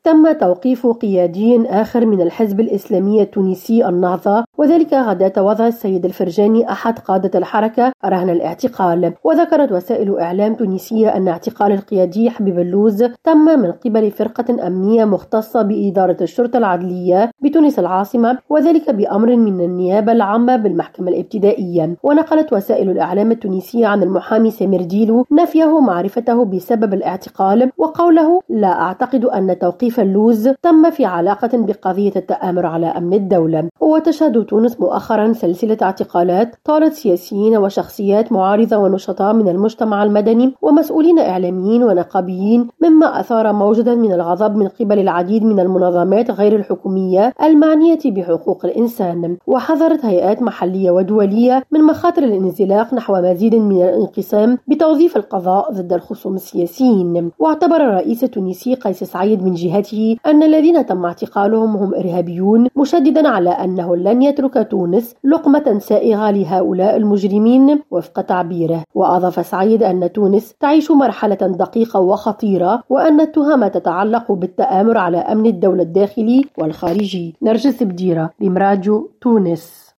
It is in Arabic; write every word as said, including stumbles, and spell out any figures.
تم توقيف قيادي آخر من الحزب الإسلامي التونسي النهضة، وذلك غداة وضع السيد الفرجاني أحد قادة الحركة رهن الاعتقال. وذكرت وسائل إعلام تونسية أن اعتقال القيادي حبيب اللوز تم من قبل فرقة أمنية مختصة بإدارة الشرطة العدلية بتونس العاصمة، وذلك بأمر من النيابة العامة بالمحكمة الابتدائية. ونقلت وسائل الإعلام التونسية عن المحامي سمير ديلو نفيه معرفته بسبب الاعتقال، وقوله: لا أعتقد أن توقيف اللوز تم في علاقة بقضية التآمر على أمن الدولة. وتشهد تونس مؤخرا سلسلة اعتقالات طالت سياسيين وشخصيات معارضة ونشطاء من المجتمع المدني ومسؤولين إعلاميين ونقابيين، مما أثار موجة من الغضب من قبل العديد من المنظمات غير الحكومية المعنية بحقوق الإنسان. وحذرت هيئات محلية ودولية من مخاطر الانزلاق نحو مزيد من الانقسام بتوظيف القضاء ضد الخصوم السياسيين. واعتبر الرئيس التونسي قيس سعيد من جهته أن الذين تم اعتقالهم هم إرهابيون، مشددا على أنه لن يترك تونس لقمة سائغة لهؤلاء المجرمين وفق تعبيره. وأضاف سعيد أن تونس تعيش مرحلة دقيقة وخطيرة، وأن التهم تتعلق بالتآمر على أمن الدولة الداخلي والخارجي. نرجس بديرة، ريم راديو، تونس.